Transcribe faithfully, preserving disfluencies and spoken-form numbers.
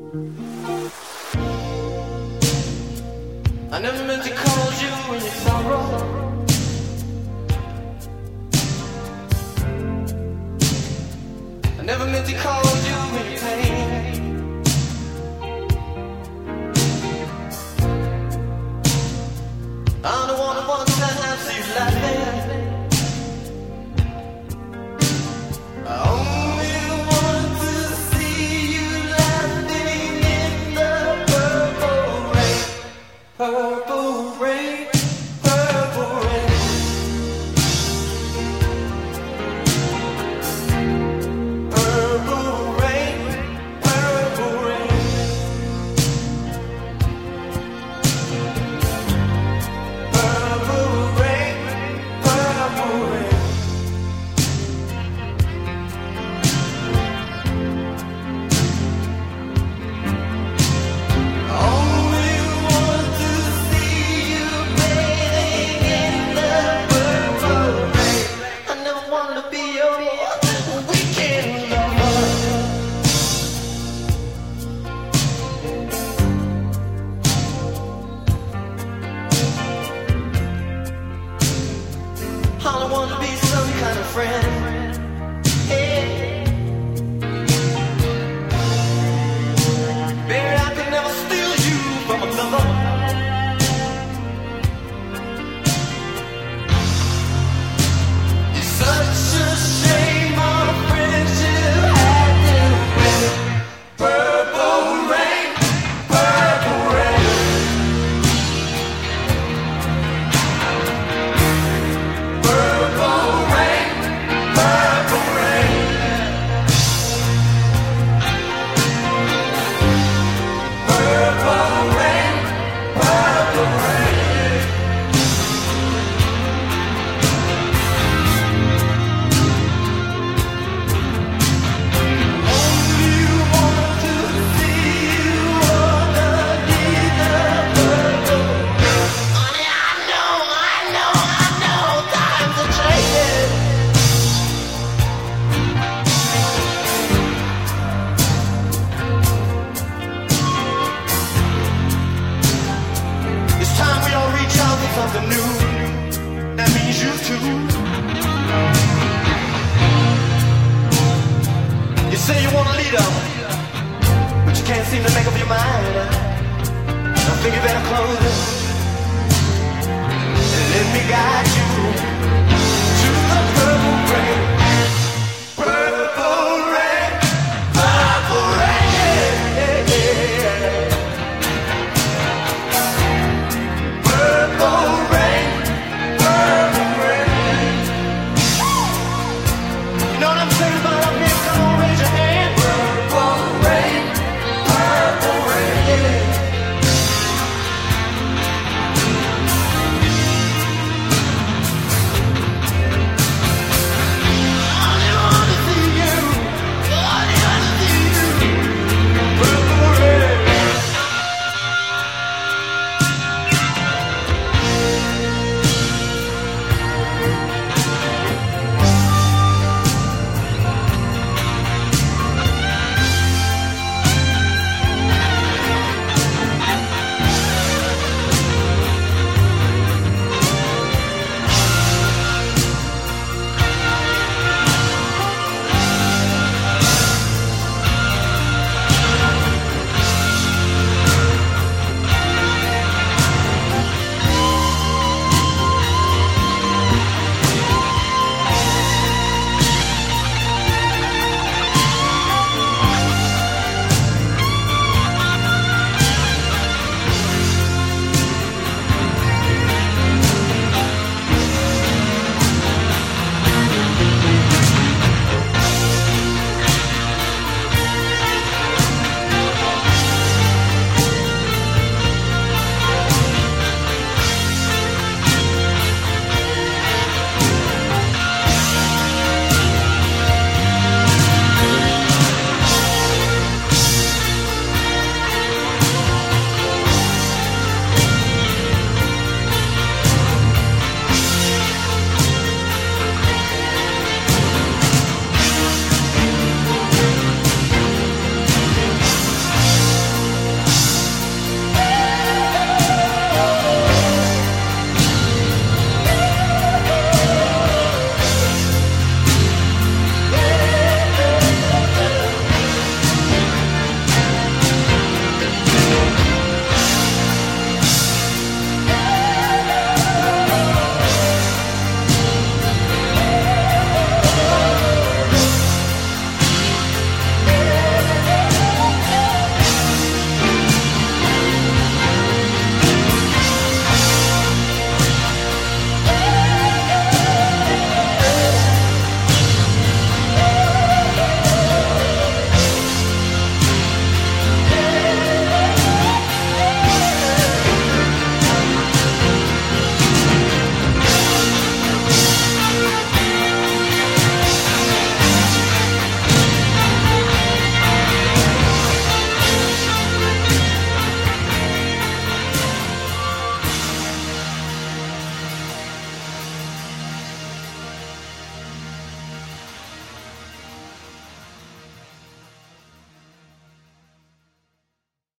I never meant to call you in your sorrow. I never meant to call you in your pain. I don't wanna want to see you laughing. I only want to see you laughing in the purple rain. Purple rain, purple rain. Purple rain, purple rain. Purple rain, purple rain. Only want to see you bathing in the purple rain. I never wanted to be your weekend lover. I don't want to be some kind of friend. Hey. Baby, I could never steal you from another. It's such a shame our friendship had to end. Purple rain, purple rain. Purple rain, purple rain. Purple rain, purple rain. Only want to see you underneath the purple rain. Honey, I know, I know, I know, times are changing. It's time we all reach out for something new. That means you too. You say you want a leader, but you can't seem to make up your mind. I think you better close it and let me guide you.